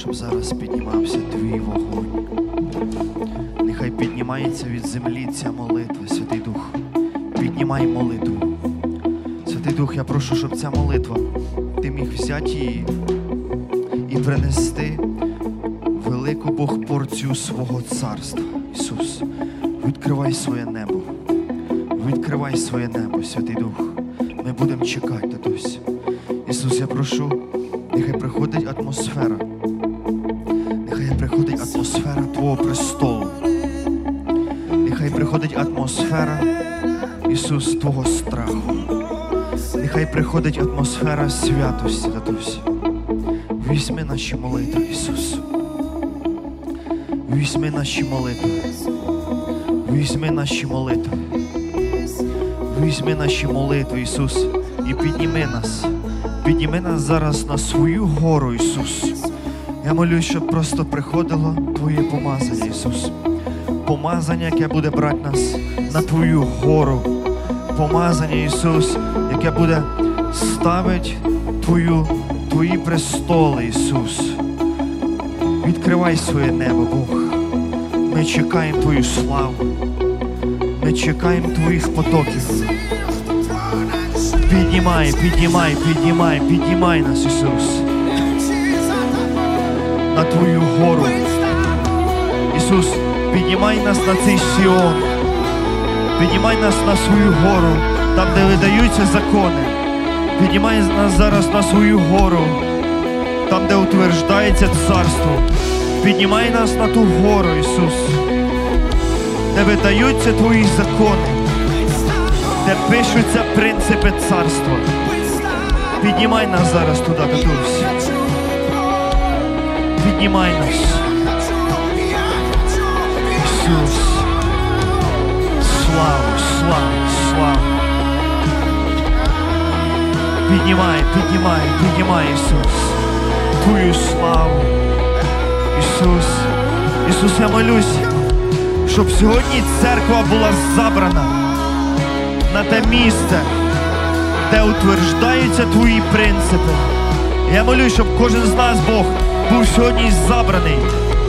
щоб зараз піднімався Твій вогонь. Нехай піднімається від землі ця молитва, Святий Дух. Піднімай молитву. Святий Дух, я прошу, щоб ця молитва, Ти міг взяти її і принести велику Бог порцію свого царства. Ісус, відкривай своє небо. Відкривай своє небо, Святий Дух. Ми будемо чекати, Татусь. Ісус, я прошу, нехай приходить атмосфера. Нехай приходить атмосфера Твого престолу. Нехай приходить атмосфера, Ісус, Твого страху. Нехай приходить атмосфера святості, Татусь. Візьми наші молитви, Ісус. Візьми наші молитви. Візьми наші молитви. Візьми наші молитви, Ісус, і підніми нас. Підніми нас зараз на свою гору, Ісус. Я молюсь, щоб просто приходило Твоє помазання, Ісус. Помазання, яке буде брати нас на Твою гору. Помазання, Ісус, яке буде ставити Твої престоли, Ісус. Відкривай своє небо, Бог. Ми чекаємо Твою славу. Ми чекаємо Твоїх потоків. Піднімай, піднімай, піднімай, піднімай нас, Ісус. На Твою гору. Ісус, піднімай нас на цей Сіон. Піднімай нас на свою гору, там, де видаються закони. Піднімай нас зараз на свою гору, там, де утверждається царство. Піднімай нас на ту гору, Ісус, де видаються Твої закони, де пишуться принципи царства. Піднімай нас зараз туди, Татусь. Піднімай нас. Ісус. Славу, славу, славу. Піднімай, піднімай, піднімай, Ісус. Твою славу. Ісус. Ісус, я молюсь, щоб сьогодні церква була забрана на те місце, де утверждаються Твої принципи. Я молюсь, щоб кожен з нас, Бог, був сьогодні забраний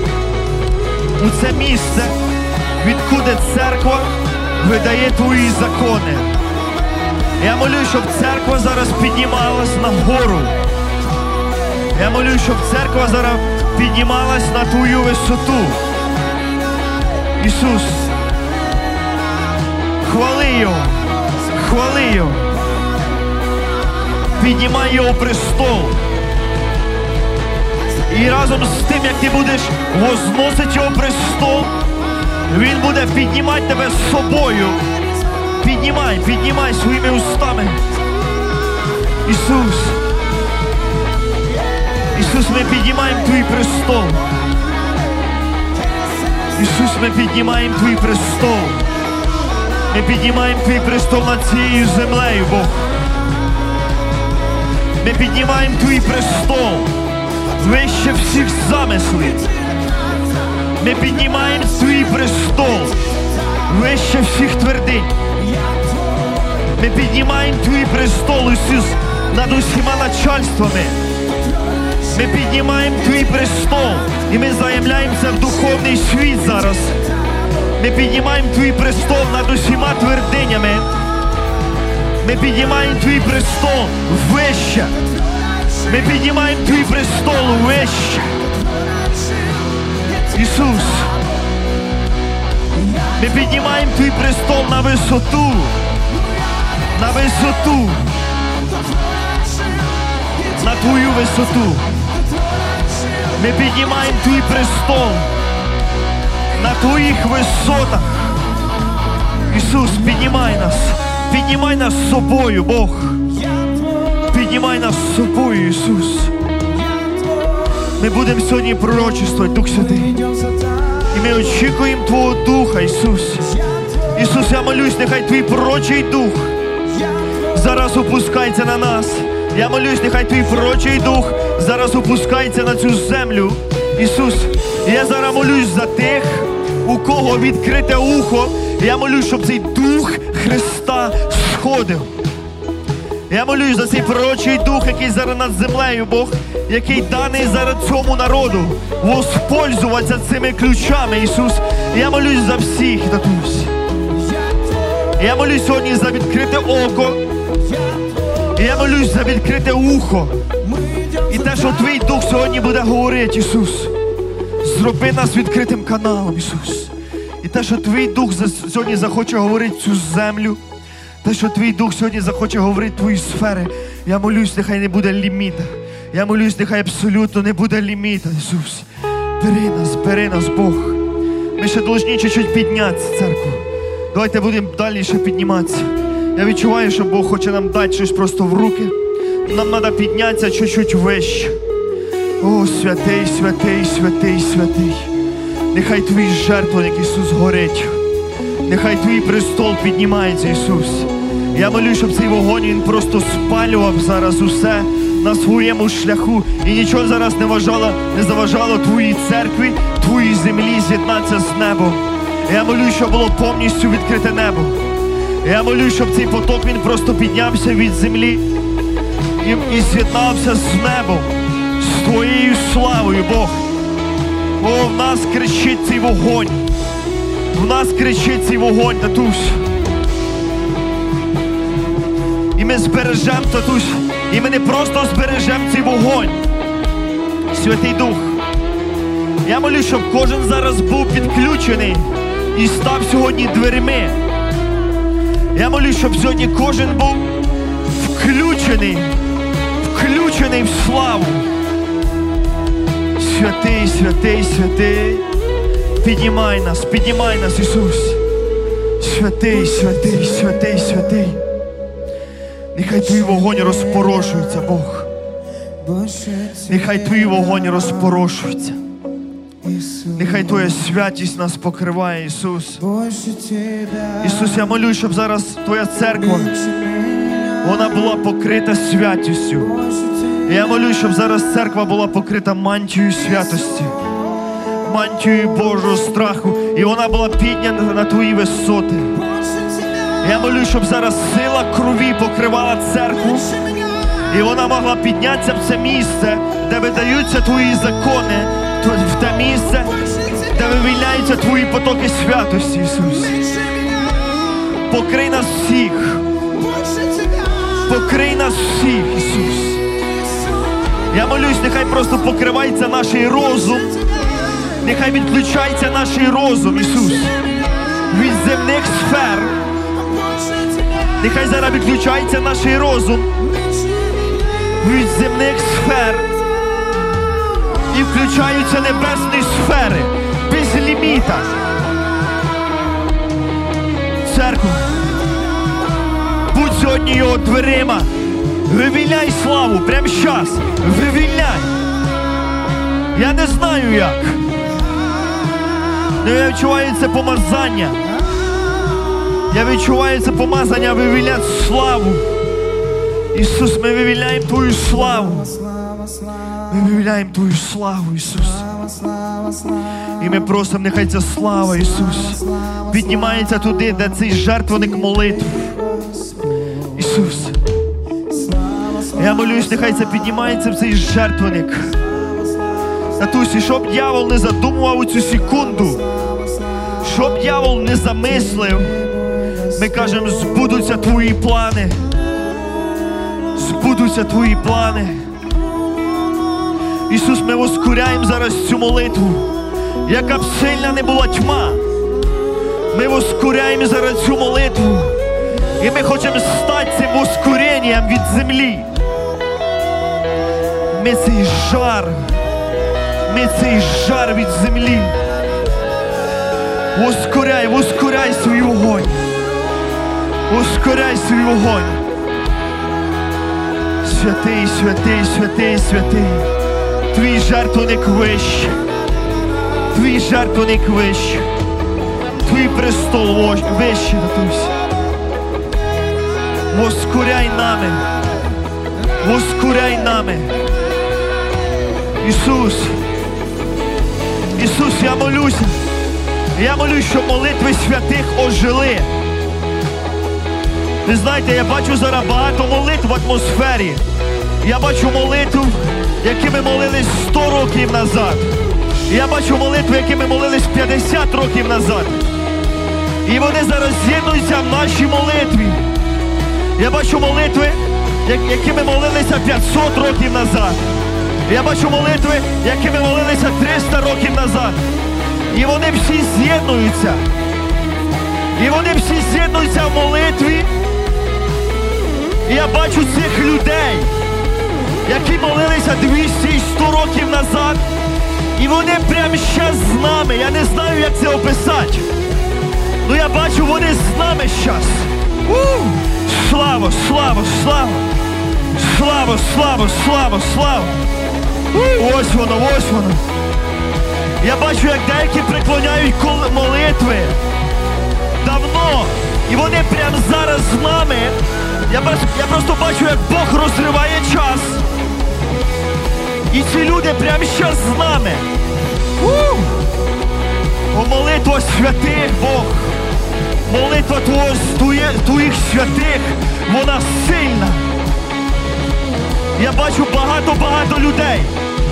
у це місце, відкуди церква видає Твої закони. Я молюсь, щоб церква зараз піднімалась на гору. Я молюсь, щоб церква зараз піднімалась на Твою висоту. Ісус, хвали Його, хвали Його. Піднімай Його престол. І разом з тим, як ти будеш возносити Його престол, Він буде піднімати тебе з собою. Піднімай, піднімай своїми устами. Ісус. Ісус, ми піднімаємо Твій престол. Ісус, ми піднімаємо Твій престол. Ми піднімаємо Твій престол над цією землею, Бог. Ми піднімаємо Твій престол вище всіх замислів. Ми піднімаємо Твій престол вище всіх твердинь. Ми піднімаємо Твій престол, Ісус, над усіма начальствами. Ми піднімаємо Твій престол, і ми заявляємося в духовний світ зараз. Ми піднімаємо Твій престол над усіма твердинями. Ми піднімаємо Твій престол вище. Ми піднімаємо Твій престол вище. Ісус, ми піднімаємо Твій престол на висоту. На висоту. На Твою висоту. Ми піднімаємо Твій престол на Твоїх висотах. Ісус, піднімай нас. Піднімай нас з собою, Бог. Піднімай нас з собою, Ісус. Ми будемо сьогодні пророчествувати, Дух Святий. І ми очікуємо Твого Духа, Ісус. Ісус, я молюсь, нехай Твій пророчий Дух зараз опускається на нас. Я молюсь, нехай Твій пророчий Дух зараз опускається на цю землю. Ісус, я зараз молюсь за тих, у кого відкрите ухо. Я молюсь, щоб цей Дух Христа сходив. Я молюсь за цей пророчий Дух, який зараз над землею, Бог. який даний зараз цьому народу, воспользуватися цими ключами, Ісус. Я молюсь за всіх, татусь. Я молюсь сьогодні за відкрите око. Я молюсь за відкрите ухо. І те, що Твій Дух сьогодні буде говорити, Ісус. Зроби нас відкритим каналом, Ісус. І те, що Твій Дух сьогодні захоче говорити цю землю, те, що Твій Дух сьогодні захоче говорити Твої сфери, я молюсь, нехай не буде ліміта. Я молюсь, нехай абсолютно не буде ліміта, Ісус. Бери нас, Бог. Ми ще повинні чуть-чуть піднятися, церкву. Давайте будемо далі ще підніматися. Я відчуваю, що Бог хоче нам дати щось просто в руки. Нам треба піднятися чуть-чуть вище. О, святий, святий, святий, святий. Нехай Твій жертвенник, Ісус, горить. Нехай Твій престол піднімається, Ісус. Я молю, щоб цей вогонь, він просто спалював зараз усе на своєму шляху. І нічого зараз не заважало Твоїй церкві, Твоїй землі з'єднатися з небом. Я молю, щоб було повністю відкрите небо. Я молю, щоб цей поток, він просто піднявся від землі і з'єднався з небом, з Твоєю славою, Бог. О, в нас кричить цей вогонь. В нас кричить цей вогонь, татусь. І ми збережемо, татусь. І ми не просто збережемо цей вогонь. Святий Дух. Я молю, щоб кожен зараз був підключений і став сьогодні дверми. Я молю, щоб сьогодні кожен був включений в славу. Святий, святий, святий. Піднімай нас, Ісус. Святий, святий, святий, святий. Нехай Твій вогонь розпорошується, Бог. Нехай Твій вогонь розпорошується. Нехай Твоя святість нас покриває, Ісус. Ісус, я молю, щоб зараз Твоя церква, вона була покрита святістю. Я молю, щоб зараз церква була покрита мантією святості, мантією Божого страху, і вона була піднята на Твої висоти. Я молю, щоб зараз сила крові покривала церкву, і вона могла піднятися в це місце, де видаються Твої закони, в те місце, де вивільняються Твої потоки святості, Ісус. Покрий нас всіх. Покрий нас всіх, Ісус. Я молюсь, нехай просто покривається наш розум. Нехай відключається наш розум, Ісус. Від земних сфер. Нехай зараз відключається наш розум. Від земних сфер. І включаються небесні сфери. Без ліміта. Церква. Будь сьогодні його дверима. Вивільняй славу, прямо зараз. Вивільняй. Я не знаю як. Але я відчуваю це помазання. Я відчуваю це помазання вивільняти славу. Ісус, ми вивільняємо Твою славу. Ми вивільняємо Твою славу, Ісус. І ми просимо, нехай ця слава, Ісус, піднімається туди, де цей жертвенник молитв. Ісус. Я молюсь, нехай це піднімається в цей жертвенник. Татусі, щоб дьявол не задумував у цю секунду, щоб дьявол не замислив, ми кажемо, збудуться Твої плани. Збудуться Твої плани. Ісус, ми воскуряємо зараз цю молитву. Яка б сильна не була тьма, ми воскуряємо зараз цю молитву. І ми хочемо стати цим воскуренням від землі. Ми цей жар від землі. Воскуряй свій вогонь. Воскуряй свій вогонь. Святий, святий, святий, святий. Твій жертвенник вище. Твій жертвенник вище. Твій престол вище, Татусь. Воскуряй нами. Воскуряй нами. Ісус. Ісус, я молюся. Я молюсь, щоб молитви святих ожили. Ви знаєте, я бачу зараз багато молитв в атмосфері. Я бачу молитв які ми молились 100 років назад. Я бачу молитви, які ми молились 50 років назад. І вони зараз з'єднуються в нашій молитві. Я бачу молитви, які ми молилися 500 років назад. Я бачу молитви, які ми молилися 300 років назад. І вони всі з'єднуються. І вони всі з'єднуються в молитві. І я бачу цих людей, які молилися 200 і 100 років назад. І вони прямо зараз з нами. Я не знаю, як це описати. Ну я бачу, вони з нами зараз. Слава, слава, слава. Слава, слава, слава, слава. Ось воно, ось воно. Я бачу, як деякі приклоняють молитви давно. І вони прямо зараз з нами. Я просто бачу, як Бог розриває час. І ці люди прямо зараз з нами. О, молитва святих, Бог. Молитва твоїх святих, вона сильна. Я бачу багато людей.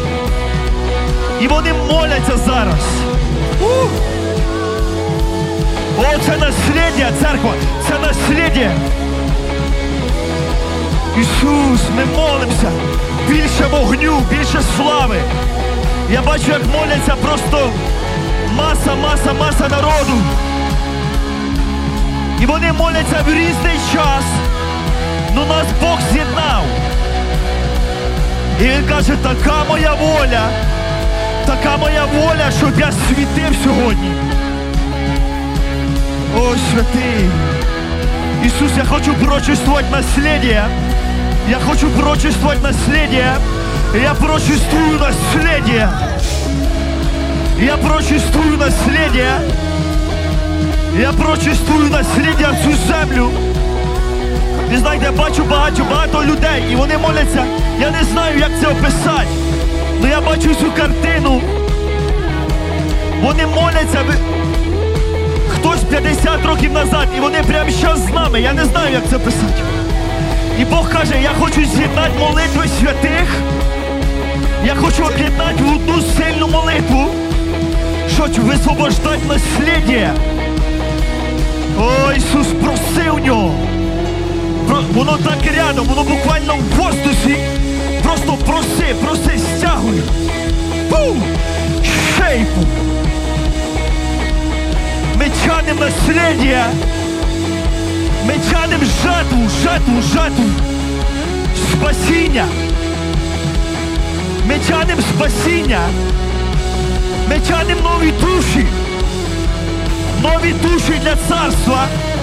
І вони моляться зараз. О, це наслідя, церква, це наслідя. Ісус, ми молимося. Більше вогню, більше слави. Я бачу, як моляться просто маса народу. І вони моляться в різний час. Но нас Бог з'єднав. І Він каже, така моя воля, щоб я світив сьогодні. О, святий. Ісус, я хочу пророчествувати наслідя. Я хочу пророчествовать наследие. Я пророчествую наследие. Я пророчествую наследие. Я пророчествую наследие в цю землю. Ви знаєте, я бачу багато людей, і вони моляться. Я не знаю, як це описати. Але я бачу цю картину. Вони моляться. Хтось 50 років назад, і вони прямо зараз з нами. Я не знаю, як це описати. І Бог каже, я хочу з'єднати молитви святих. Я хочу об'єднати в одну сильну молитву, щоб висвобождати наслідя. О, Ісус, проси у нього. Воно так рядом, воно буквально в воздусі. Просто проси, стягуй. Шейпу. Ми тянем наслідя. Ми тянем жатву, спасіння. Ми тянем спасіння. Ми тянем нові душі для царства.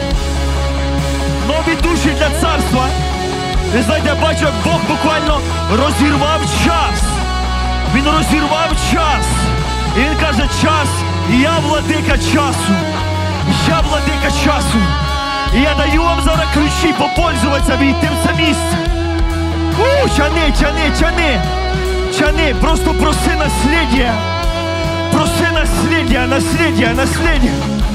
Нові душі для царства. Ви знаєте, я бачу, як Бог буквально розірвав час. Він розірвав час. І Він каже, час, я владика часу. Я владика часу. І я даю вам зараз ключі попользуватися, війти в це місце. Чани. Просто проси наслідя. Проси наслідя.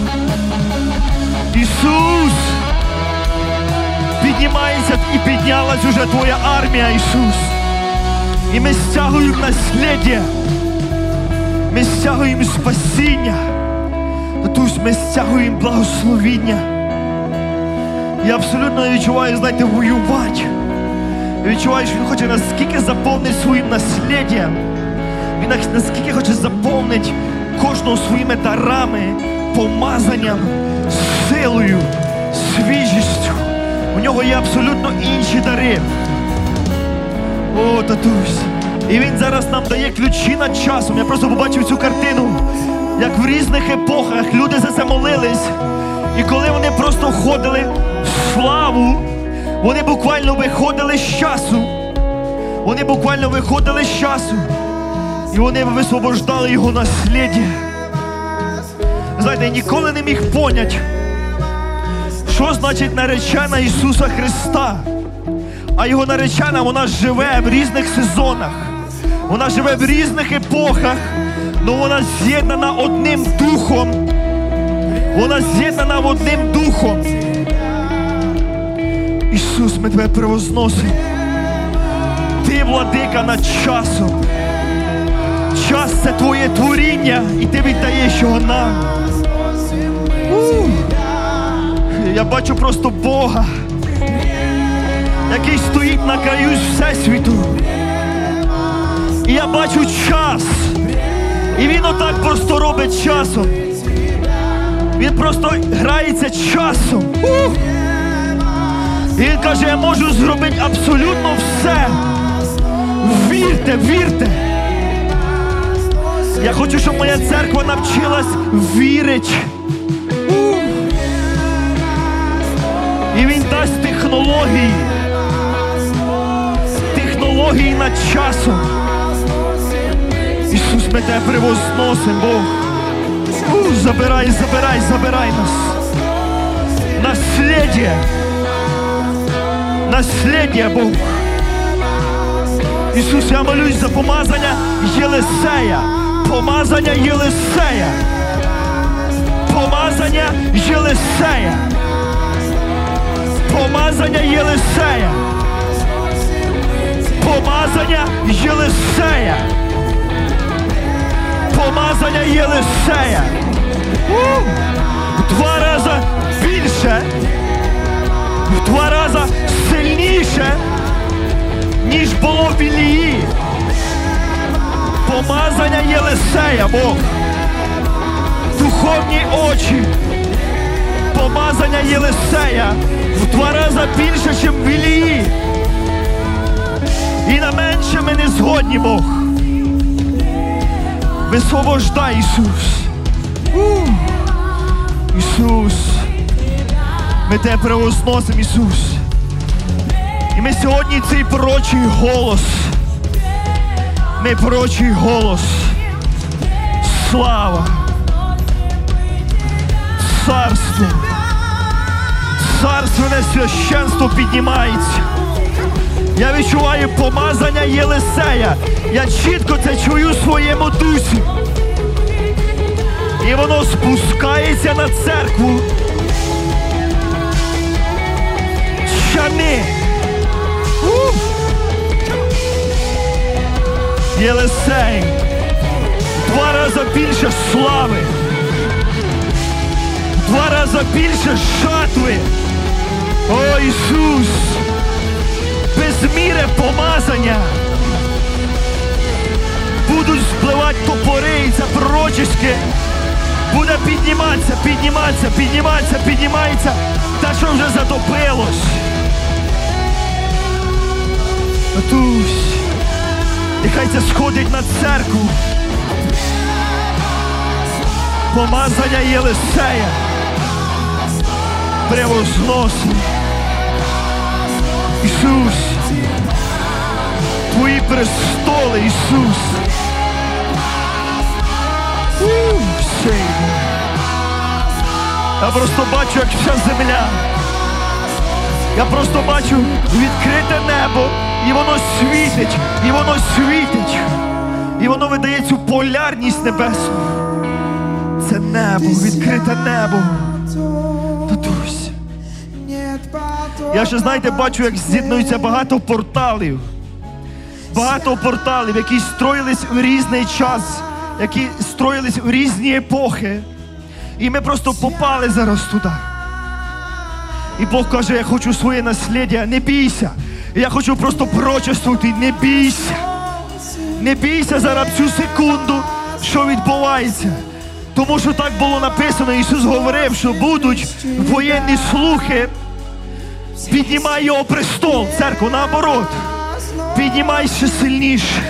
Ісус. Піднімається і піднялась уже твоя армія, Ісус. І ми стягуємо наслідя. Ми стягуємо спасіння. Тобто ми стягуємо благословіння. Я абсолютно не відчуваю, знаєте, воювати. Я відчуваю, що Він хоче наскільки заповнити своїм насліддям. Він наскільки хоче заповнити кожного своїми дарами, помазанням, силою, свіжістю. У нього є абсолютно інші дари. О, татусь. І Він зараз нам дає ключі над часом. Я просто побачив цю картину, як в різних епохах люди за це молились. І коли вони просто входили в славу, вони буквально виходили з часу. Вони буквально виходили з часу. І вони висвобождали його насліддя. Знаєте, я ніколи не міг поняти, що значить наречена Ісуса Христа. А Його наречена, вона живе в різних сезонах. Вона живе в різних епохах, але вона з'єднана одним духом. Вона з'єднана одним духом. Ісус, ми Тебе превозносимо. Ти владика над часом. Час – це твоє творіння, і ти віддаєш його нам. Я бачу просто Бога, який стоїть на краю Всесвіту. І я бачу час. І він отак просто робить часом. Він просто грається часом. І він каже, я можу зробити абсолютно все. Вірте, вірте. Я хочу, щоб моя церква навчилась вірити. І він дасть технології. Технології над часом. Ісус, ми тебе превозносимо, Бог. Забирай, забирай, забирай нас. Насліддя. Насліддя, Бог. Ісус, я молюсь за помазання Єлисея. Помазання Єлисея. Помазання Єлисея. Помазання Єлисея. Помазання Єлисея. Помазання Єлисея. В 2 рази більше, в 2 рази сильніше, ніж було в Ілії. Помазання Єлисея, Бог. Духовні очі. Помазання Єлисея в 2 рази більше, ніж в Ілії. І на менше ми не згодні, Бог. Висвобождай, Ісус. Ісус. Ми тебе превозносимо, Ісус. І ми сьогодні цей пророчий голос. Ми пророчий голос. Слава. Царство. Царственне священство піднімається. Я відчуваю помазання Єлисея. Я чітко це чую в своєму дусі. І воно спускається на церкву. Щани. Єлисей. 2 рази більше слави. 2 рази більше жатви. О, Ісус. Без міри помазання. Будуть спливати топори, і це пророчеське буде підніматися, підніматися, підніматися, піднімається. Та, що вже затопилось. Татусь, нехай це сходить на церкву. Помазання Єлисея. Превозносимо. Ісус. Твої престоли, Ісус. Я просто бачу, як вся земля. Я просто бачу відкрите небо. І воно світить. І воно світить. І воно видає цю полярність небесну. Це небо, відкрите небо. Татусь. Я ще, знаєте, бачу, як з'єднуються багато порталів. Багато порталів, які строїлись в різний час, які строїлись в різні епохи. І ми просто попали зараз туди. І Бог каже, я хочу своє насліддя, не бійся. І я хочу просто пророчествувати, не бійся. Не бійся зараз цю секунду, що відбувається. Тому що так було написано, Ісус говорив, що будуть воєнні слухи. Піднімай його престол, церкву, наоборот. Піднімай ще сильніше.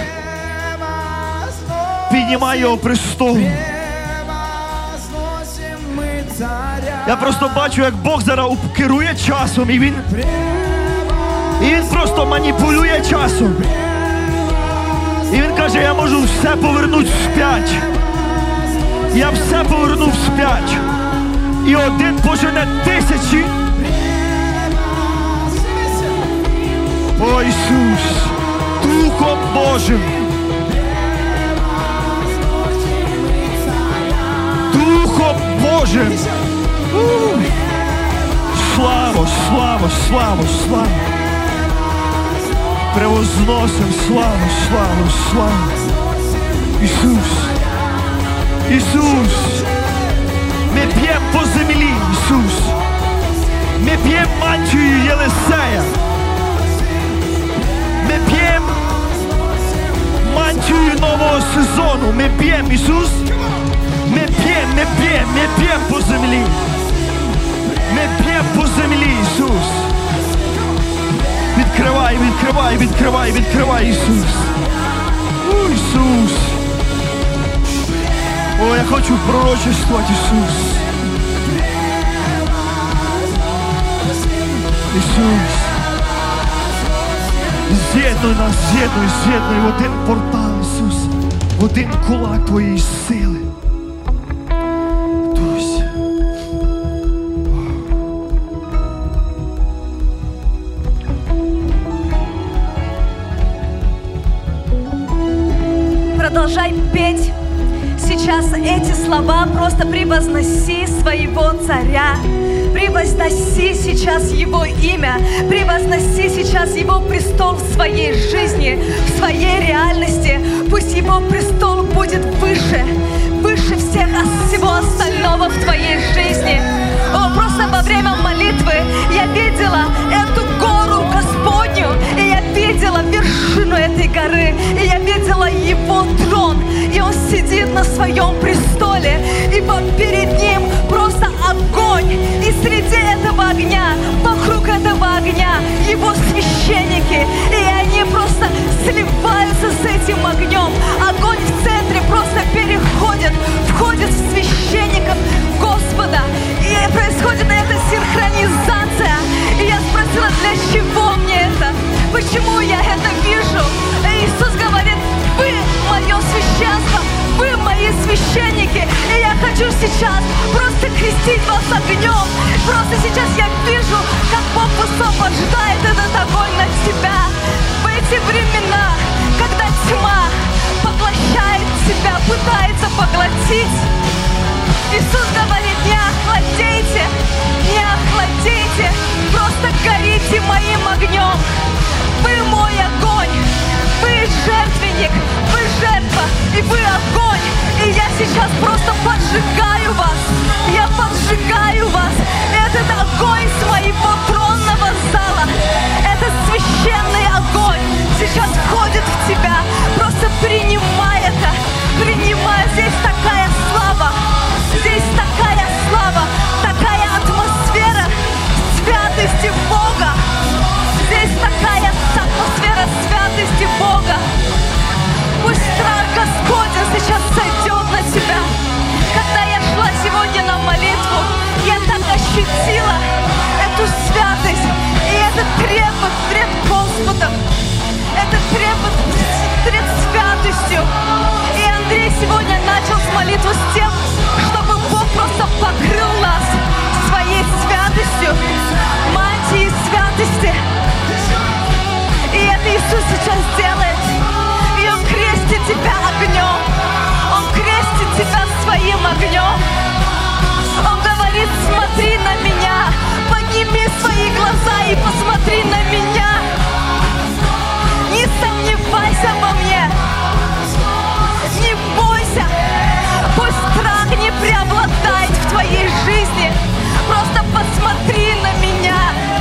Піднімай його престол. Я просто бачу, як Бог зараз керує часом, і він просто маніпулює часом. І він каже, я можу все повернути вспять. Я все поверну вспять. І один пожене 1000. О, Ісус, Духом Божим. Духом Божим. Слава, слава, слава, слава. Превозносим славу, славу, славу. Ісус, Ісус, ми п'ємо по землі, Ісус. Ми п'ємо мантію Єлисея. Ми п'ємо мантію нового сезону. Ми п'ємо, Ісус. Ми п'ємо по землі. Ми п'ємо по землі, Ісус. Відкривай, відкривай, відкривай, відкривай, Ісус. О, Ісус. О, я хочу пророчествувати, Ісус. Ісус. З'єднуй нас, з'єднуй в один портал, Ісус. В один кулак Твоєї сили. Продолжай петь сейчас эти слова, просто превозноси своего царя, превозноси сейчас его имя, превозноси сейчас его престол в своей жизни, в своей реальности. Пусть его престол будет выше, выше всего остального в твоей жизни. О, просто во время молитвы я видела эту гору Господню, и я видела вершину этой горы, и я видела Его трон, и Он сидит на своем престоле, и перед Ним просто огонь, и среди этого огня, вокруг этого огня Его священники, и они просто сливаются с этим огнем. Огонь в центре просто переходит, входит в священников Господа, и происходит эта синхронизация. И я спросила, для чего мне это? Почему я это вижу? И Иисус говорит: вы мое священство, вы мои священники. И я хочу сейчас просто крестить вас огнем. Просто сейчас я вижу, как Бог высвобождает этот огонь на тебя. В эти времена, когда тьма поглощает тебя, пытается поглотить, Иисус говорит: не охладейте, не охладейте, просто горите моим огнем. Вы мой огонь, вы жертвенник, вы жертва, и вы огонь. И я сейчас просто поджигаю вас, я поджигаю вас. Этот огонь с моего тронного зала, этот священный огонь сейчас входит в тебя. Просто принимай это, принимай. Здесь такая слава, здесь такая слава, такая атмосфера святости Бога. Здесь такая атмосфера святости Бога. Пусть страх Господень сейчас сойдет на тебя. Когда я шла сегодня на молитву, я так ощутила эту святость и этот трепет пред Господом, этот трепет пред святостью. И Андрей сегодня начал с молитвы с тем, чтобы Бог просто покрыл нас своей святостью, мантией святости. И это Иисус сейчас делает. И Он крестит тебя огнем. Он крестит тебя своим огнем. Он говорит: смотри на меня, подними свои глаза и посмотри на меня. Не сомневайся во мне, не бойся. Пусть страх не преобладает в твоей жизни. Просто посмотри на меня.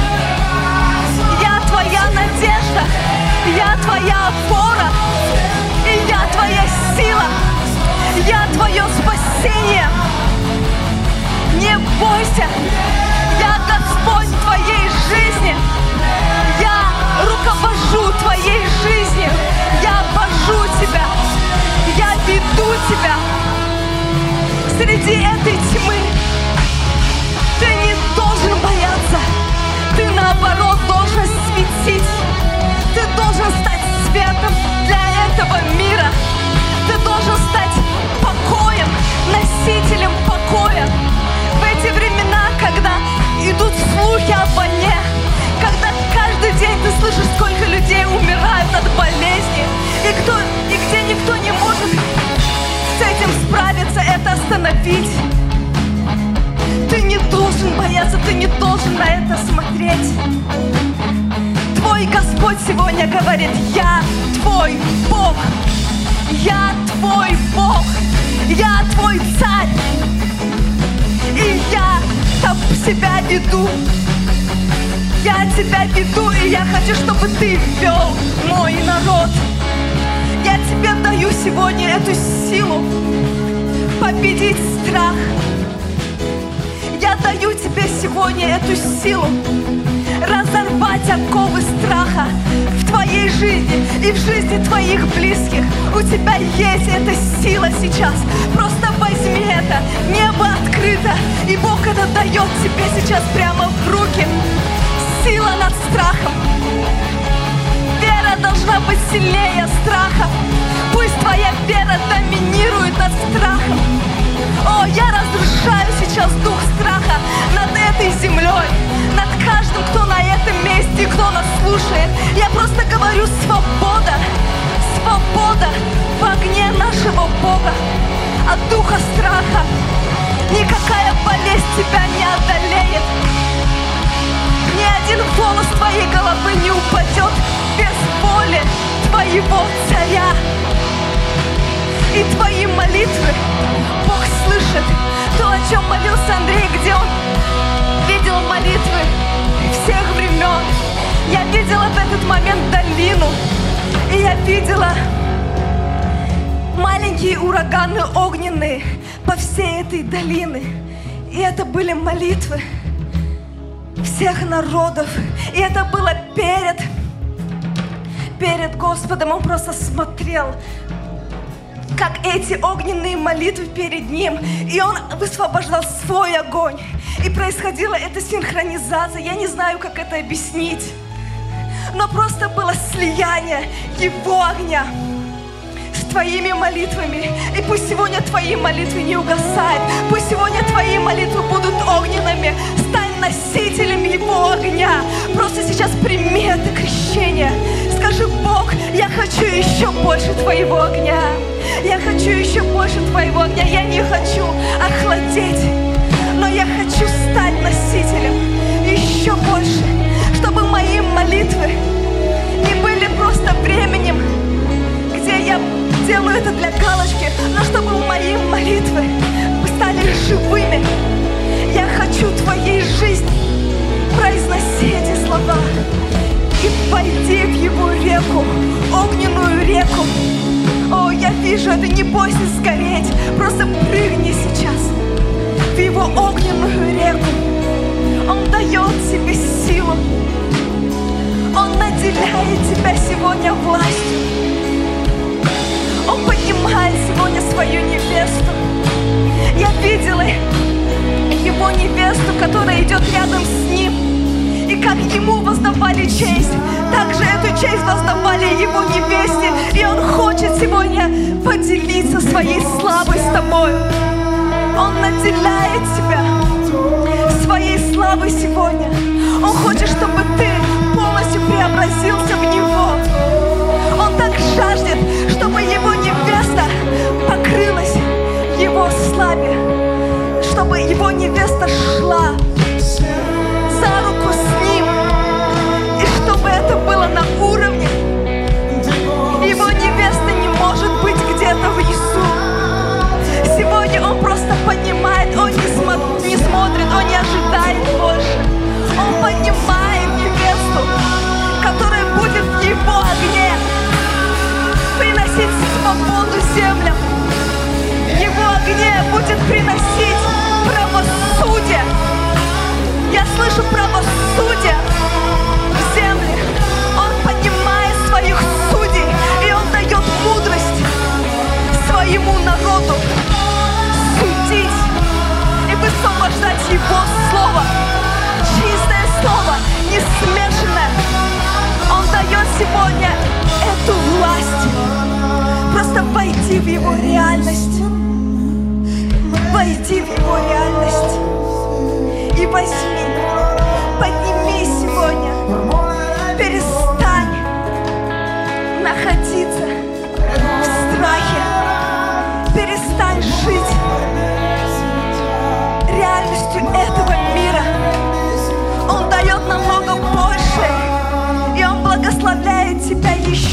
Я твоя надежда, я твоя опора, и я твоя сила, я твое спасение. Не бойся, я Господь твоей жизни. Я руковожу твоей жизнью, я вожу тебя, я веду тебя. Среди этой тьмы ты не должен бояться, ты наоборот должен светить. Ты должен стать светом для этого мира. Ты должен стать покоем, носителем покоя. В эти времена, когда идут слухи о войне, когда каждый день ты слышишь, сколько людей умирают от болезни, и где никто не может с этим справиться, это остановить. Ты не должен бояться, ты не должен на это смотреть. Твой твой Господь сегодня говорит: я твой Бог, я твой Бог, я твой царь, и я там себя веду. Я тебя веду, и я хочу, чтобы ты вел мой народ. Я тебе даю сегодня эту силу победить страх. Я даю тебе сегодня эту силу разорвать оковы страха в твоей жизни и в жизни твоих близких. У тебя есть эта сила сейчас. Просто возьми это. Небо открыто, и Бог это дает тебе сейчас прямо в руки. Сила над страхом. Вера должна быть сильнее страха. Пусть твоя вера доминирует над страхом. О, я разрушаю сейчас дух страха над этой землей, над каждым, кто на этом месте, кто нас слушает. Я просто говорю: свобода, свобода в огне нашего Бога от духа страха. Никакая болезнь тебя не одолеет. Ни один волос твоей головы не упадет без воли твоего царя. И твои молитвы Бог слышит. То, о чем молился Андрей, где он видел молитвы всех времен. Я видела в этот момент долину, и я видела маленькие ураганы огненные по всей этой долине. И это были молитвы всех народов. И это было перед Господом. Он просто смотрел, как эти огненные молитвы перед Ним. И Он высвобождал свой огонь. И происходила эта синхронизация. Я не знаю, как это объяснить. Но просто было слияние Его огня с твоими молитвами. И пусть сегодня твои молитвы не угасают. Пусть сегодня твои молитвы будут огненными. Стань носителем Его огня. Просто сейчас прими это крещение. Скажи: Бог, я хочу еще больше Твоего огня. Я хочу еще больше Твоего огня. Я не хочу охладеть, но я хочу стать носителем еще больше. Чтобы мои молитвы не были просто временем, где я делаю это для галочки, но чтобы мои молитвы стали живыми. Я хочу Твоей жизни произносить эти слова и пойти в Его реку, огненную реку. О, я вижу это, не бойся сгореть, просто прыгни сейчас в Его огненную реку. Он дает тебе силу, Он наделяет тебя сегодня властью. Он поднимает сегодня свою невесту. Я видела Его невесту, которая идет рядом с Ним. И как Ему воздавали честь, так же эту честь воздавали Его невесте. И Он хочет сегодня поделиться своей славой с тобой. Он наделяет тебя своей славой сегодня. Он хочет, чтобы ты полностью преобразился в Него. Он так жаждет, чтобы Его невеста покрылась в Его славе, чтобы Его невеста шла за руку с Ним, и чтобы это было на уровне. Его невеста не может быть где-то внизу. Сегодня Он просто поднимает, Он не смотрит, Он не ожидает больше. Он поднимает невесту, которая будет в Его огне приносить свободу землям. В Его огне будет приносить правосудие. Я слышу правосудие в земле. Он поднимает своих судей, и Он дает мудрость своему народу судить и высвобождать Его слово. Чистое слово, не смешанное. Он дает сегодня эту власть. Просто войди в Его реальность. Войди в Его реальность. И возьми, подними сегодня. Перестань находиться в страхе. Перестань жить реальностью этого мира. Он дает намного больше. И Он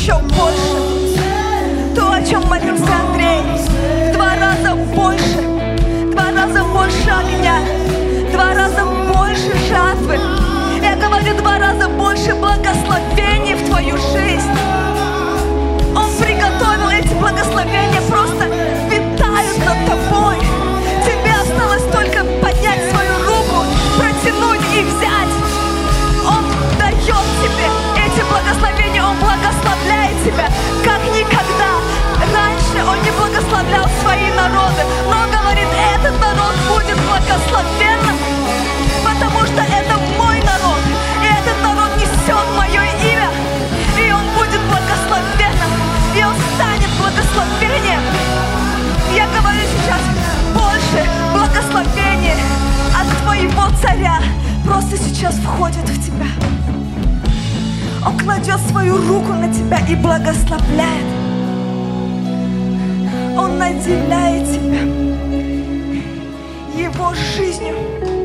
еще больше. То, о чем молился Андрей, в 2 раза больше, 2 раза больше огня, 2 раза больше жатвы. Я говорю, 2 раза больше благословений в твою жизнь. Он приготовил эти благословения, просто витают над тобой. Тебе осталось только поднять свою руку, протянуть и взять. Он дает тебе эти благословения, Он благословляет тебя, как никогда. Раньше Он не благословлял свои народы, но Он говорит, этот народ будет благословенным, потому что это мой народ, и этот народ несет мое имя, и он будет благословенным, и он станет благословением. Я говорю сейчас, больше благословения от твоего царя просто сейчас входит в тебя. Он кладет свою руку на тебя и благословляет. Он наделяет тебя его жизнью.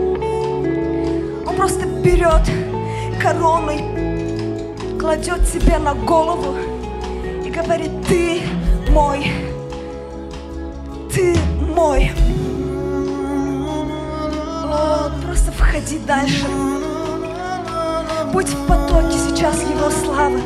Он просто берет корону, кладет себе на голову и говорит, ты мой, ты мой. О, просто входи дальше. Будь в потоке сейчас Его славы.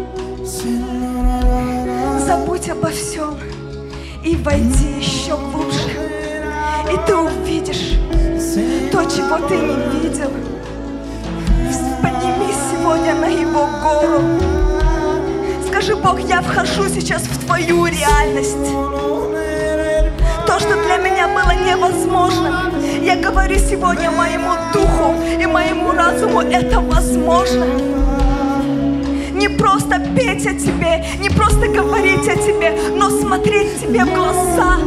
Забудь обо всем и войди еще глубже. И ты увидишь то, чего ты не видел. Поднимись сегодня на Его гору. Скажи, Бог, я вхожу сейчас в Твою реальность. То, что для меня было невозможно, я говорю сегодня моему духу и моему разуму, это возможно. Не просто петь о Тебе, не просто говорить о Тебе, но смотреть Тебе в глаза,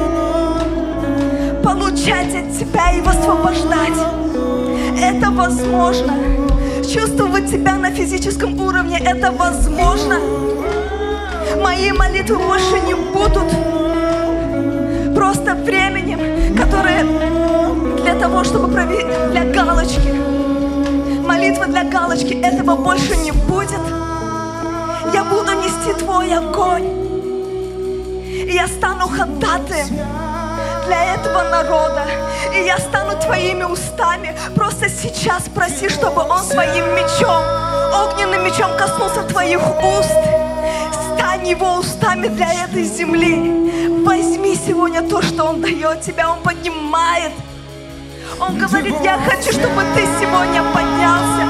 получать от Тебя и высвобождать. Это возможно. Чувствовать Тебя на физическом уровне, это возможно. Мои молитвы больше не будут просто временем, которое для того, чтобы проверить, для галочки. Молитва для галочки, этого больше не будет. Я буду нести Твой огонь. И я стану ходатаем для этого народа. И я стану Твоими устами. Просто сейчас проси, чтобы Он своим мечом, огненным мечом коснулся Твоих уст. Стань Его устами для этой земли. Возьми сегодня то, что Он дает тебя. Он поднимает. Он говорит, я хочу, чтобы ты сегодня поднялся.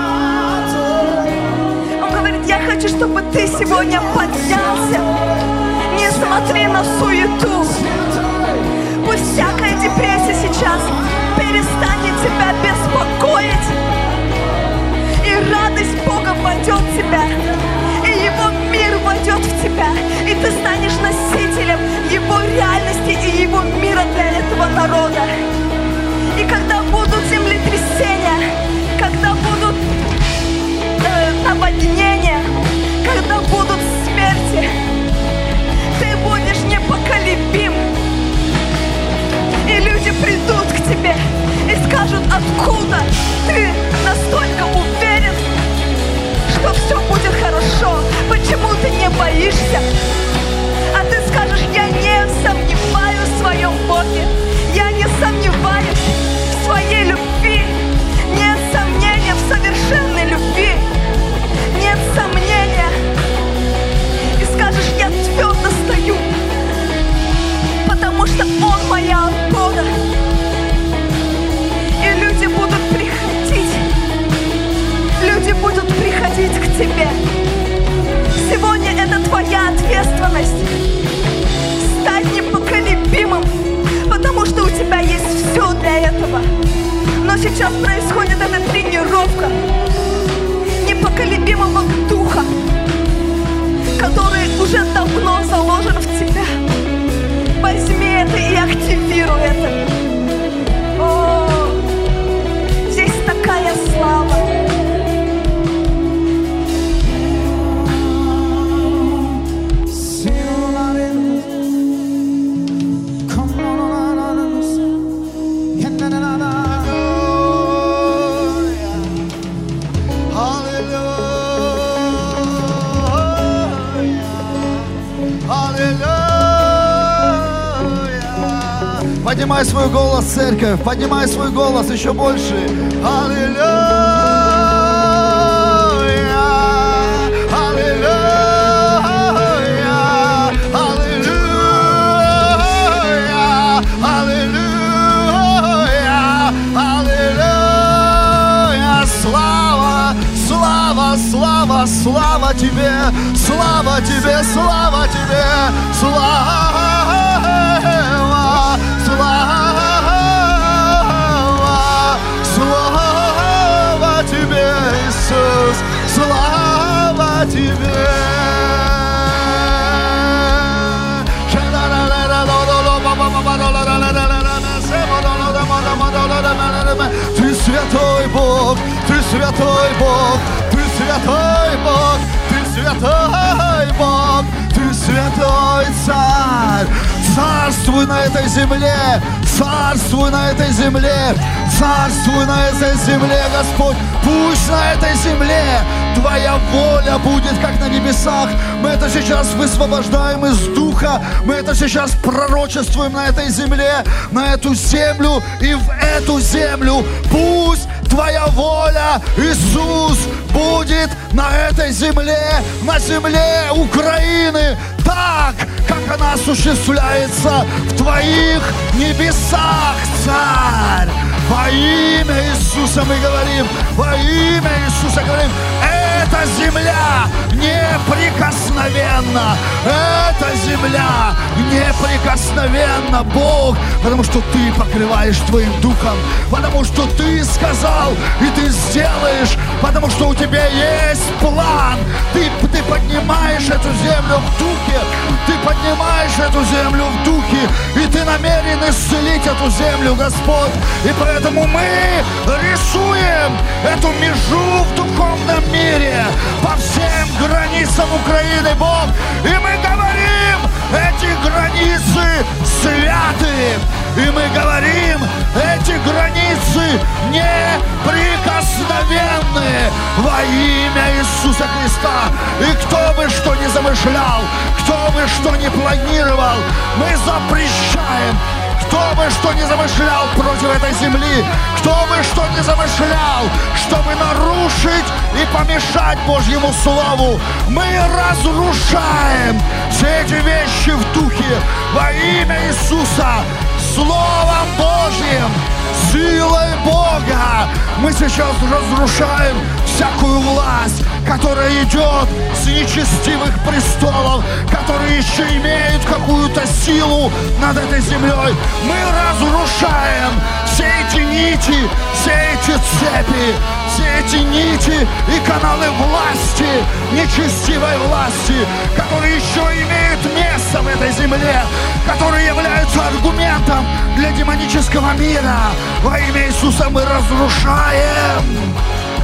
Он говорит, я хочу, чтобы ты сегодня поднялся. Не смотри на суету. Пусть всякая депрессия сейчас перестанет тебя беспокоить. И радость Бога войдет в тебя. И Его мир войдет в тебя. И ты станешь носителем Его реальности и Его мира для этого народа. И когда будут землетрясения, когда будут наводнения, когда будут смерти, ты будешь непоколебим. И люди придут к тебе и скажут, откуда ты настолько уверен, что все будет хорошо, почему ты не боишься? А ты скажешь, я не сомневаюсь в своем Боге, я не сомневаюсь в своей любви, нет сомнения в совершенной любви, нет сомнения. И скажешь, я твердо стою, потому что Он моя опора. И люди будут приходить к тебе. Сегодня это твоя ответственность. Стать непоколебимым, потому что у тебя есть все для этого. Но сейчас происходит эта тренировка непоколебимого духа, который уже давно заложен в тебя. Возьми это и активируй это. О, здесь такая слава. Hallelujah. Поднимай свой голос, церковь, поднимай свой голос еще больше. Аллилуйя, аллилуйя, аллилуйя, аллилуйя, аллилуйя. Слава, слава, слава, слава тебе, слава тебе, слава тебе, слава. Слава тебе, Иисус, слава тебе. Ты святой Бог, ты святой Бог, ты святой Бог, ты святой Бог, ты святой Царь. Царствуй на этой земле, царствуй на этой земле, царствуй на этой земле, Господь. Пусть на этой земле Твоя воля будет, как на небесах. Мы это сейчас высвобождаем из Духа, мы это сейчас пророчествуем на этой земле, на эту землю и в эту землю. Пусть Твоя воля, Иисус, будет на этой земле, на земле Украины, так, как она осуществляется в Твоих небесах, Царь. Во имя Иисуса мы говорим, во имя Иисуса говорим, эта земля неприкосновенна, эта земля неприкосновенна, Бог, потому что Ты покрываешь Твоим Духом, потому что Ты сказал, и Ты сделаешь, потому что у Тебя есть план. Ты поднимаешь эту землю в Духе, Ты поднимаешь эту землю в Духе, и Ты намерен исцелить эту землю, Господь. И поэтому мы рисуем эту межу в духовном мире по всем границам Украины, Бог. И мы говорим, эти границы святы. И мы говорим, эти границы неприкосновенны во имя Иисуса Христа. И кто бы что ни замышлял, кто бы что ни планировал, мы запрещаем. Кто бы что ни замышлял против этой земли, кто бы что ни замышлял, чтобы нарушить и помешать Божьему Слову, мы разрушаем все эти вещи в Духе во имя Иисуса, Словом Божьим, силой Бога. Мы сейчас разрушаем всякую власть, которая идет с нечестивых престолов, которые еще имеют какую-то силу над этой землей. Мы разрушаем все эти нити, все эти цепи, все эти нити и каналы власти, нечестивой власти, которые еще имеют место в этой земле, которые являются аргументом для демонического мира. Во имя Иисуса мы разрушаем.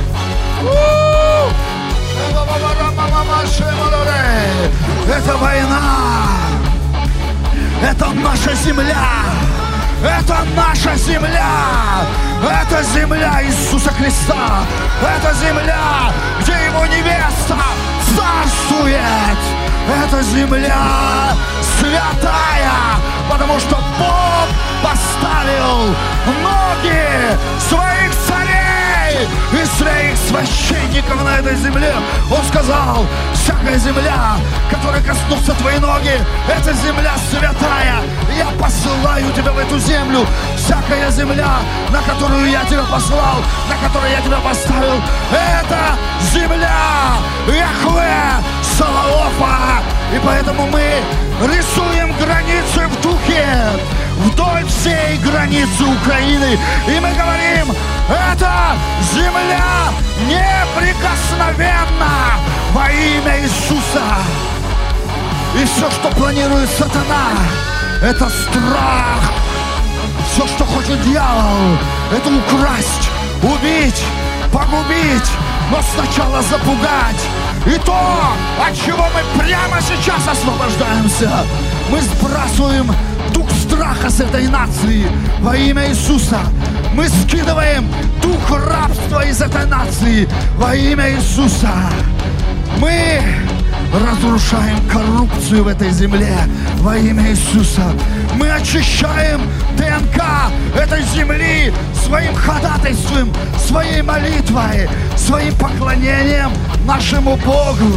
Это война, это наша земля, это наша земля, это земля Иисуса Христа, это земля, где Его невеста царствует, это земля святая, потому что Бог поставил ноги своих царей и своих священников на этой земле. Он сказал, всякая земля, которой коснутся твои ноги, это земля святая. Я посылаю тебя в эту землю. Всякая земля, на которую я тебя послал, на которую я тебя поставил, это земля Яхве Саваофа. И поэтому мы рисуем границы в Духе вдоль всей границы Украины. И мы говорим, это земля неприкосновенна во имя Иисуса. И все, что планирует сатана, это страх. Все, что хочет дьявол, это украсть, убить, погубить, но сначала запугать. И то, от чего мы прямо сейчас освобождаемся, мы сбрасываем дух страха с этой нации во имя Иисуса. Мы скидываем дух рабства из этой нации во имя Иисуса. Мы разрушаем коррупцию в этой земле во имя Иисуса. Мы очищаем ДНК этой земли своим ходатайством, своей молитвой, своим поклонением нашему Богу.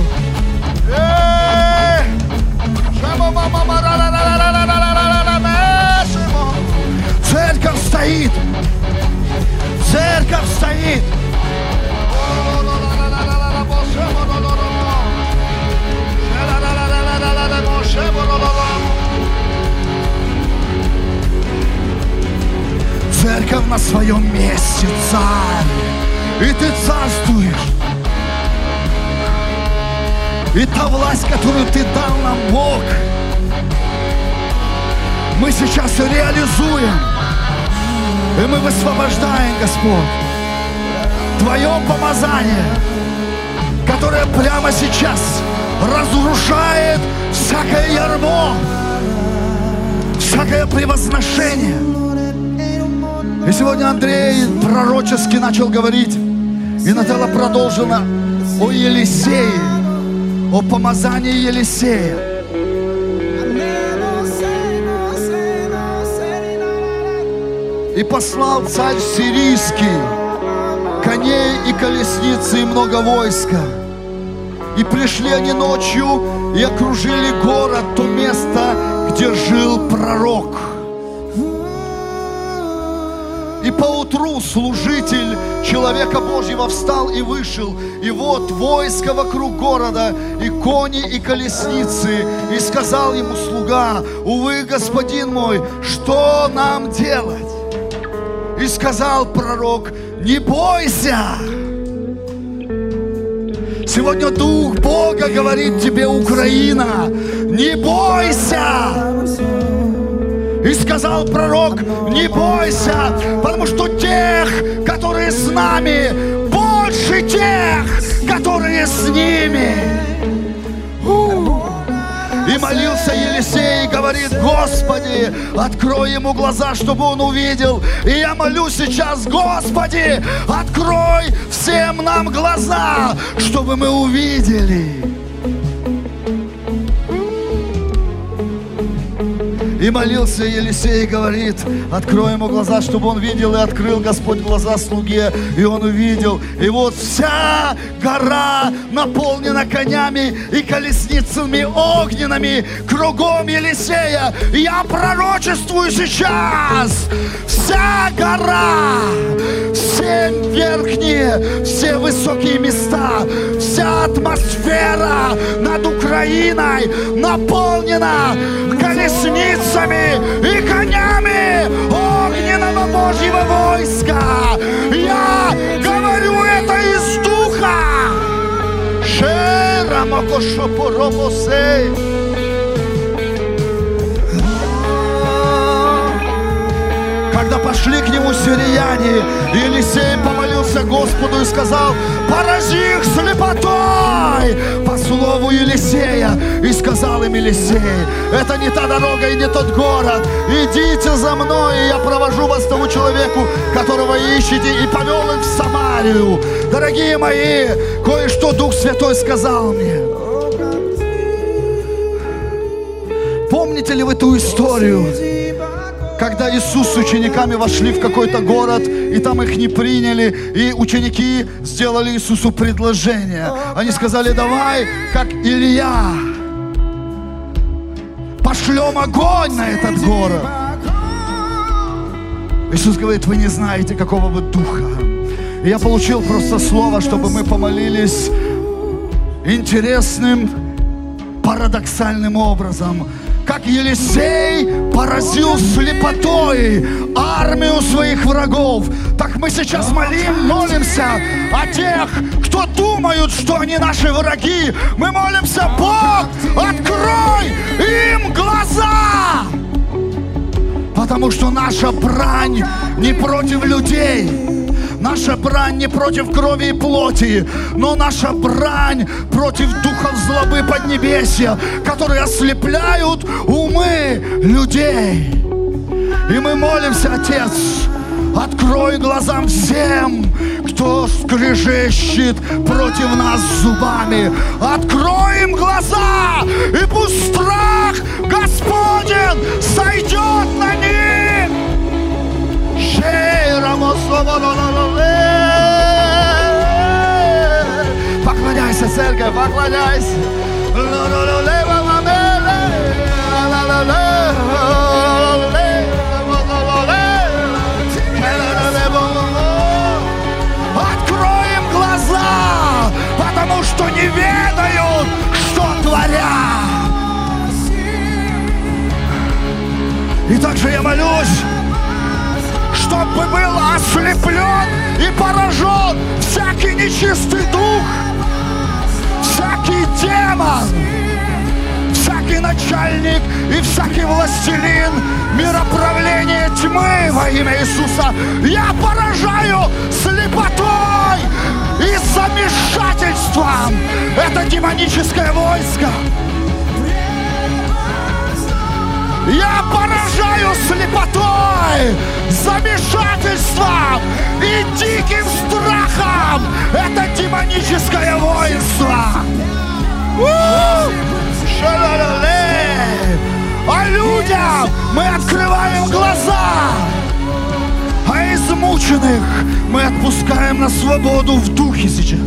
Церковь стоит! Церковь стоит! Церковь на своем месте, царь, и ты царствуешь. И та власть, которую ты дал нам, Бог, мы сейчас реализуем. И мы высвобождаем, Господь, Твое помазание, которое прямо сейчас разрушает всякое ярмо, всякое превозношение. И сегодня Андрей пророчески начал говорить, и Нателла продолжила о Елисее, о помазании Елисея. И послал царь сирийский коней и колесницы и много войска. И пришли они ночью и окружили город, то место, где жил пророк. И поутру служитель человека Божьего встал и вышел. И вот войско вокруг города, и кони, и колесницы. И сказал ему слуга: увы, господин мой, что нам делать? И сказал пророк: не бойся. Сегодня Дух Бога говорит тебе, Украина, не бойся. И сказал пророк: не бойся, потому что тех, которые с нами, больше тех, которые с ними. И молился Елисей, и говорит: Господи, открой ему глаза, чтобы он увидел. И я молю сейчас: Господи, открой всем нам глаза, чтобы мы увидели. И молился Елисей, и говорит: открой ему глаза, чтобы он видел. И открыл Господь глаза слуге, и он увидел. И вот вся гора наполнена конями и колесницами огненными кругом Елисея. И я пророчествую сейчас: вся гора, все верхние, все высокие места, вся атмосфера над Украиной наполнена колесницами и конями огненного Божьего войска. Я говорю это из Духа. Когда пошли к нему сирияне, Елисей помолился Господу и сказал: порази их слепотой, по слову Елисея. И сказал им Елисей: это не та дорога и не тот город, идите за мной, и я провожу вас к тому человеку, которого ищете. И повел их в Самарию. Дорогие мои, кое-что Дух Святой сказал мне. Помните ли вы ту историю, когда Иисус с учениками вошли в какой-то город, и там их не приняли, и ученики сделали Иисусу предложение. Они сказали: давай, как Илья, пошлем огонь на этот город. Иисус говорит: вы не знаете, какого вы духа. И я получил просто слово, чтобы мы помолились интересным, парадоксальным образом. Как Елисей поразил слепотой армию своих врагов, так мы сейчас молимся о тех, кто думают, что они наши враги. Мы молимся: Бог, открой им глаза! Потому что наша брань не против людей. Наша брань не против крови и плоти, но наша брань против духов злобы поднебесья, которые ослепляют умы людей. И мы молимся, Отец, Открой глазам всем, кто скрежещет против нас зубами. Открой им глаза, и пусть страх Господень сойдет на них. Поклоняйся, церковь, поклоняйся. Откроем глаза, потому что не ведают, что творят. И также я молюсь, чтобы был ослеплен и поражен всякий нечистый дух, всякий демон, всякий начальник и всякий властелин мироправления тьмы во имя Иисуса. Я поражаю слепотой и замешательством это демоническое войско. Я поражаю слепотой, замешательством и диким страхом это демоническое воинство. А людям мы открываем глаза, а измученных мы отпускаем на свободу в духе сейчас.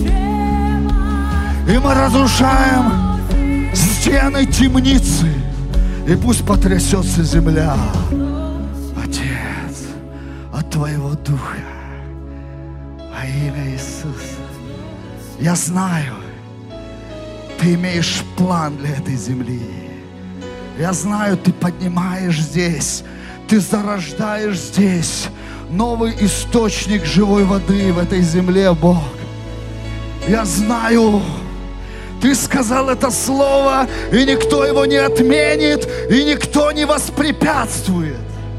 И мы разрушаем стены темницы, и пусть потрясется земля, Отец, от Твоего Духа во имя Иисуса. Я знаю, Ты имеешь план для этой земли. Я знаю, Ты поднимаешь здесь, Ты зарождаешь здесь новый источник живой воды в этой земле, Бог. Я знаю, Ты сказал это слово, и никто его не отменит, и никто не воспрепятствует.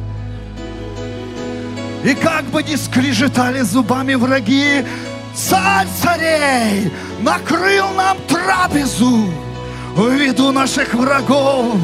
И как бы ни скрежетали зубами враги, Царь царей накрыл нам трапезу в виду наших врагов.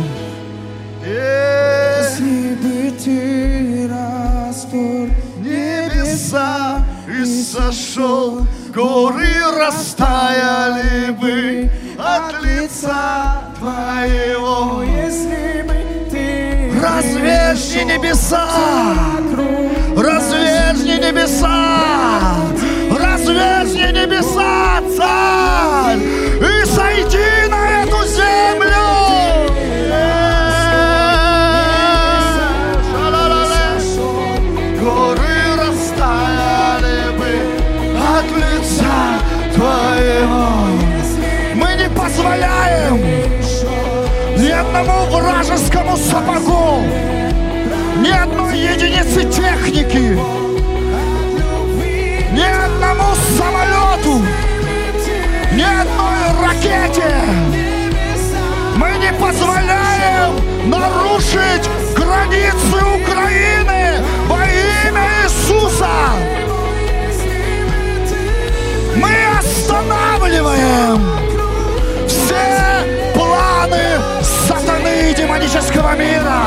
Если бы Ты распор небеса и сошел, горы растаяли бы от лица Твоего. Если бы Ты разверзни небеса, разверзни небеса, разверзни небеса, Царь, и сойди на эту землю. Горы растаяли бы от лица Твоего. Мы не позволяем ни одному вражескому сапогу, ни одной единице техники, ни одному самолету, ни одной ракете. Мы не позволяем нарушить границы Украины во имя Иисуса. Мы останавливаем все планы сатаны и демонического мира.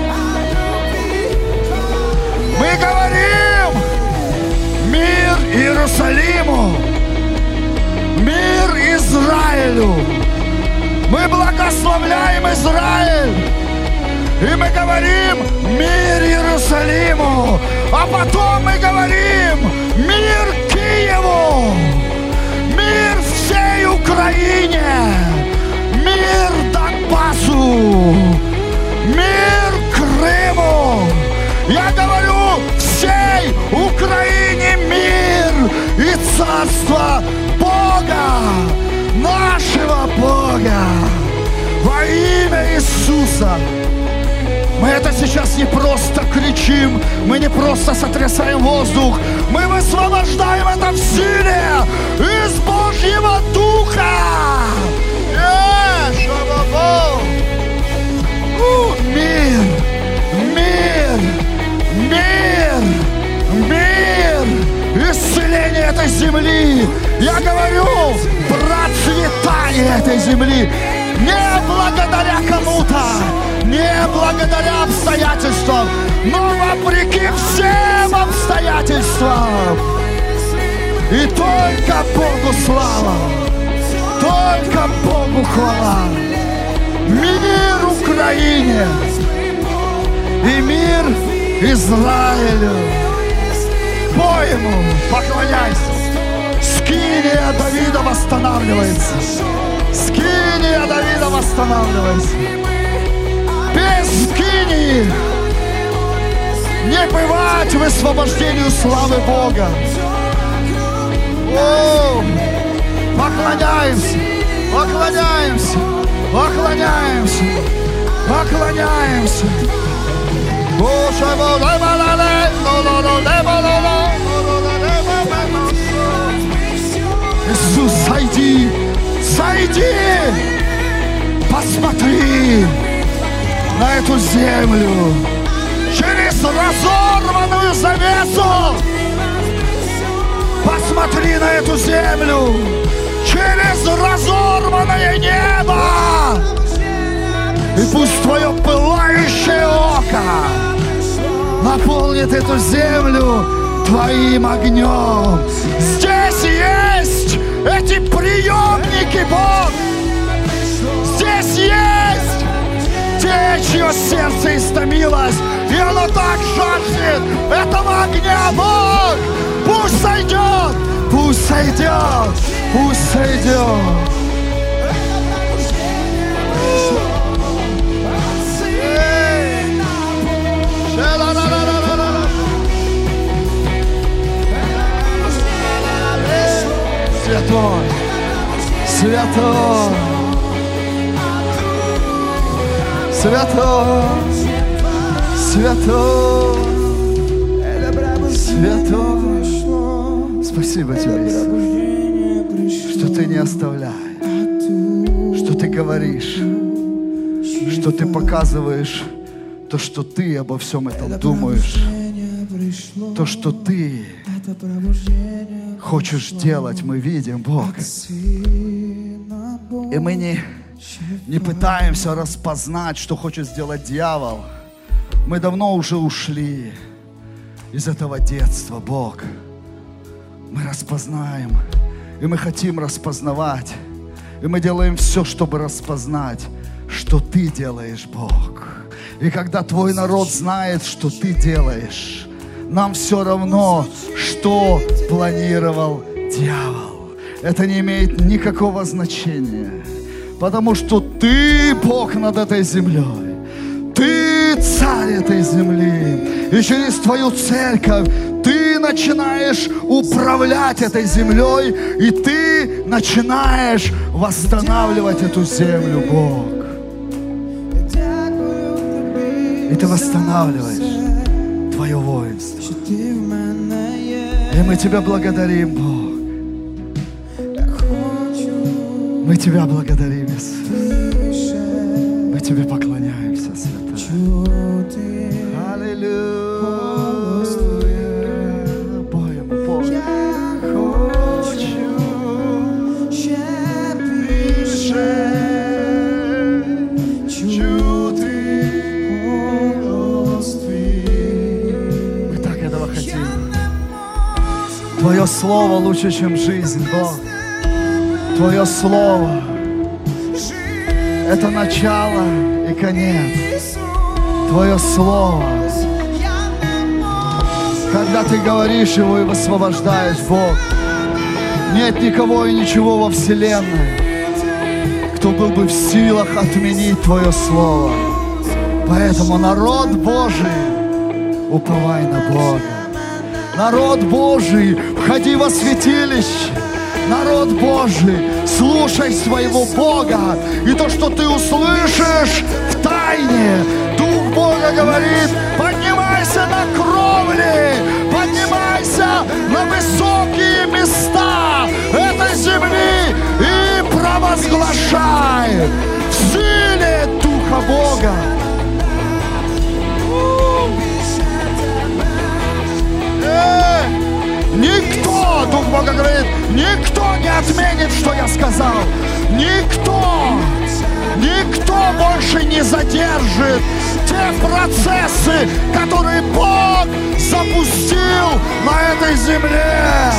Мы говорим: мир Иерусалиму, мир Израилю. Мы благословляем Израиль, и мы говорим: мир Иерусалиму. А потом мы говорим: мир Киеву, мир всей Украине, мир Донбассу, мир Крыму. Я говорю: всей Украине мир и царство Бога, нашего Бога, во имя Иисуса. Мы это сейчас не просто кричим, мы не просто сотрясаем воздух, мы высвобождаем это в силе из Божьего Духа. Мир, мир, мир, мир, исцеление этой земли. Я говорю: процветание этой земли. Не благодаря кому-то, не благодаря обстоятельствам, но вопреки всем обстоятельствам. И только Богу слава, только Богу хвала. Мир Украине и мир Израилю. Пой ему, поклоняйся. Скиния Давида восстанавливается. Скиния Давида восстанавливается. Без скинии не бывать высвобождению славы Бога. О, поклоняемся, поклоняемся, поклоняемся, поклоняемся. Иисус, сойди, сойди, посмотри на эту землю через разорванную завесу. Посмотри на эту землю через разорванное небо. И пусть твое пылающее око наполнит эту землю твоим огнем. Здесь есть эти приемники, Бог. Здесь есть те, чье сердце истомилось, и оно так жаждет этого огня, Бог. Пусть сойдет, пусть сойдет, пусть сойдет. Святой, святой, святой, святой, святой. Спасибо тебе, Иисус, что ты не оставляешь, что ты говоришь, что ты показываешь то, что ты обо всем этом думаешь, то, что ты хочешь делать, мы видим, Бог. И мы не пытаемся распознать, что хочет сделать дьявол. Мы давно уже ушли из этого детства, Бог. Мы распознаем, и мы хотим распознавать. И мы делаем все, чтобы распознать, что Ты делаешь, Бог. И когда Твой народ знает, что Ты делаешь, нам все равно, что планировал дьявол. Это не имеет никакого значения, потому что Ты Бог над этой землей. Ты царь этой земли. И через Твою церковь Ты начинаешь управлять этой землей, и Ты начинаешь восстанавливать эту землю, Бог. И Ты восстанавливаешь Твое воинство. И мы Тебя благодарим, Бог. Мы Тебя благодарим, Иисус. Мы Тебе поклоняемся, Святой. Аллилуйя. Поем, поем. Мы так этого хотим. Твое Слово лучше, чем жизнь, Бог. Твое Слово — это начало и конец. Твое Слово, когда Ты говоришь его и высвобождаешь, Бог, нет никого и ничего во вселенной, кто был бы в силах отменить Твое Слово. Поэтому, народ Божий, уповай на Бога. Народ Божий, входи во святилище. Народ Божий, слушай своего Бога. И то, что ты услышишь в тайне, Дух Бога говорит: поднимайся на кровли, поднимайся на высокие места этой земли и провозглашай в силе Духа Бога. Никто, Дух Бога говорит, никто не отменит, что я сказал. Никто Никто больше не задержит те процессы, которые Бог запустил на этой земле.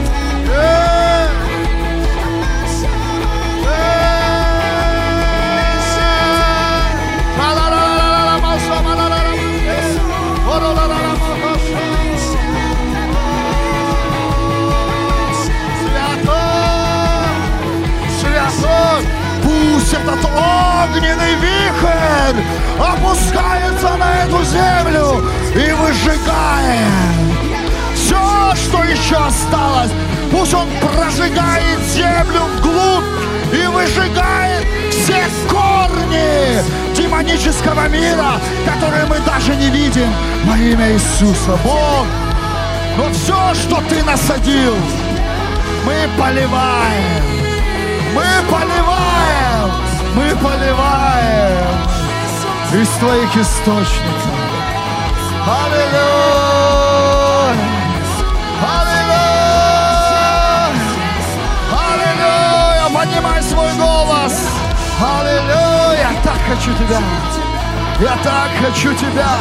Пусть этот огненный вихрь опускается на эту землю и выжигает все, что еще осталось. Пусть он прожигает землю вглубь и выжигает все корни демонического мира, которые мы даже не видим, во имя Иисуса. Бог, но все, что Ты насадил, мы поливаем. Мы поливаем, мы поливаем из Твоих источников. Аллилуйя! Аллилуйя! Аллилуйя! Поднимай свой голос! Аллилуйя! Я так хочу Тебя! Я так хочу Тебя!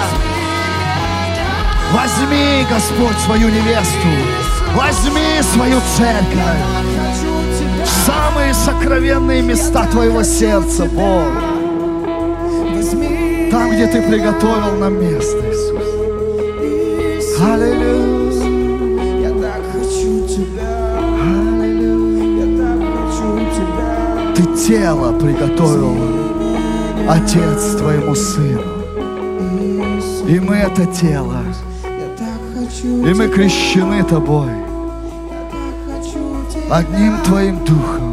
Возьми, Господь, свою невесту! Возьми свою церковь! Самые сокровенные места Твоего сердца, Бог. Там, где Ты приготовил нам место, Иисус. Аллилуйя. Я так хочу Тебя. Аллилуйя. Я так хочу Тебя. Ты тело приготовил, Отец, Твоему Сыну. И мы это тело. И мы крещены Тобой. Одним Твоим Духом.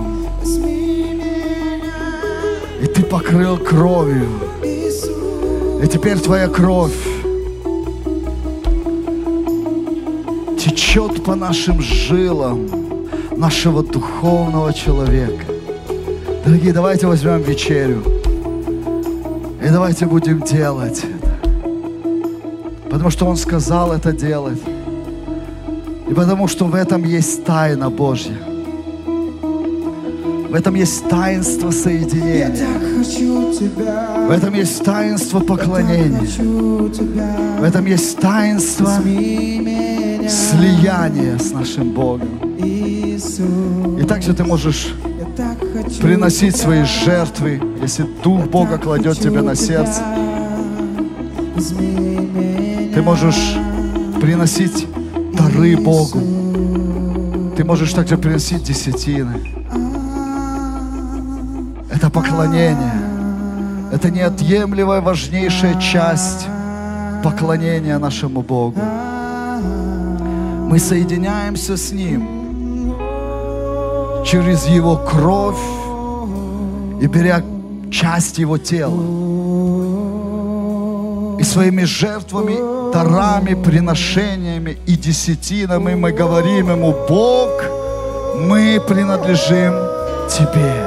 И Ты покрыл кровью. И теперь Твоя кровь течет по нашим жилам нашего духовного человека. Дорогие, давайте возьмем вечерю. И давайте будем делать это. Потому что Он сказал это делать. И потому что в этом есть тайна Божья. В этом есть таинство соединения. В этом есть таинство поклонения. В этом есть таинство слияния с нашим Богом. И также ты можешь приносить свои жертвы, если Дух Бога кладет тебе на сердце. Ты можешь приносить дары Богу. Ты можешь также приносить десятины. Это поклонение. Это неотъемлемая, важнейшая часть поклонения нашему Богу. Мы соединяемся с Ним через Его кровь и беря часть Его тела. И своими жертвами, дарами, приношениями и десятинами мы говорим Ему: Бог, мы принадлежим Тебе.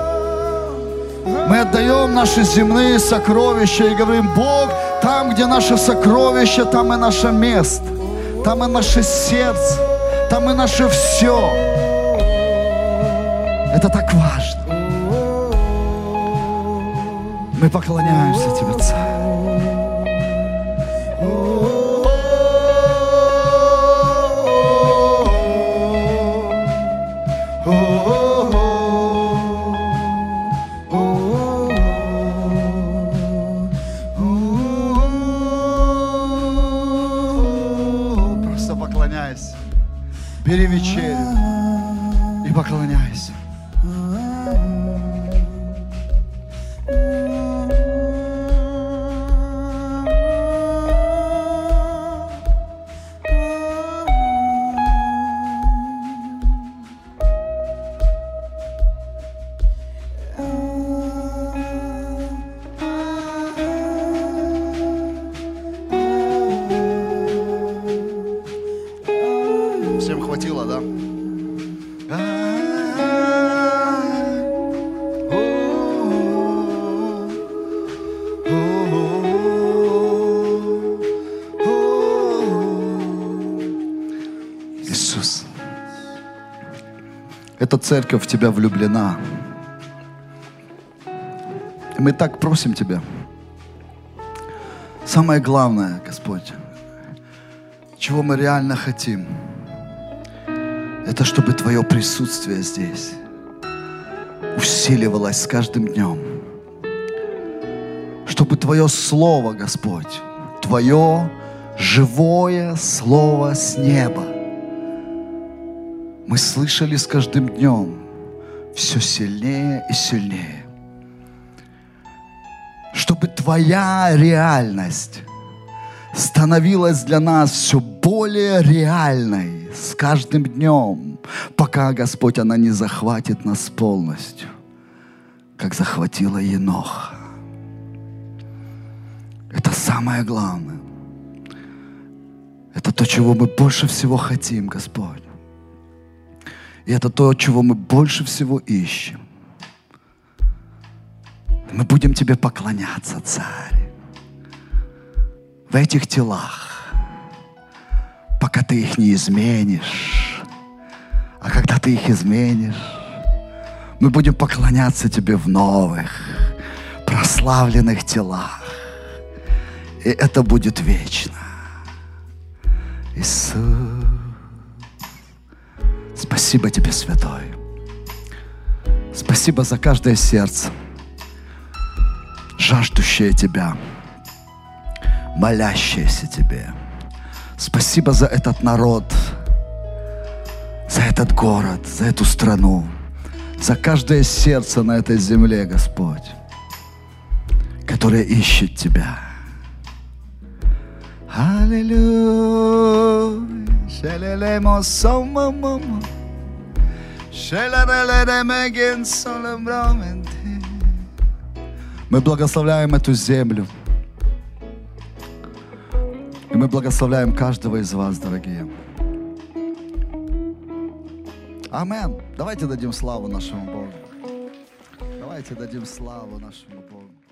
Мы отдаем наши земные сокровища и говорим: Бог, там, где наше сокровище, там и наше место, там и наше сердце, там и наше все. Это так важно. Мы поклоняемся Тебе, Царь. Бери вечерю и поклоняйся. Всем хватило, да? Иисус, эта церковь в Тебя влюблена. И мы так просим Тебя. Самое главное, Господь, чего мы реально хотим, это чтобы Твое присутствие здесь усиливалось с каждым днем. Чтобы Твое Слово, Господь, Твое живое Слово с неба мы слышали с каждым днем все сильнее и сильнее. Чтобы Твоя реальность становилась для нас все более реальной с каждым днем, пока, Господь, она не захватит нас полностью, как захватила Еноха. Это самое главное. Это то, чего мы больше всего хотим, Господь. И это то, чего мы больше всего ищем. Мы будем Тебе поклоняться, Царь, в этих телах, пока Ты их не изменишь. А когда Ты их изменишь, мы будем поклоняться Тебе в новых, прославленных телах. И это будет вечно. Иисус, спасибо Тебе, Святой. Спасибо за каждое сердце, жаждущее Тебя, молящееся Тебе. Спасибо за этот народ, за этот город, за эту страну, за каждое сердце на этой земле, Господь, которое ищет Тебя. Аллилуйя. Мы благословляем эту землю. И мы благословляем каждого из вас, дорогие. Амин. Давайте дадим славу нашему Богу. Давайте дадим славу нашему Богу.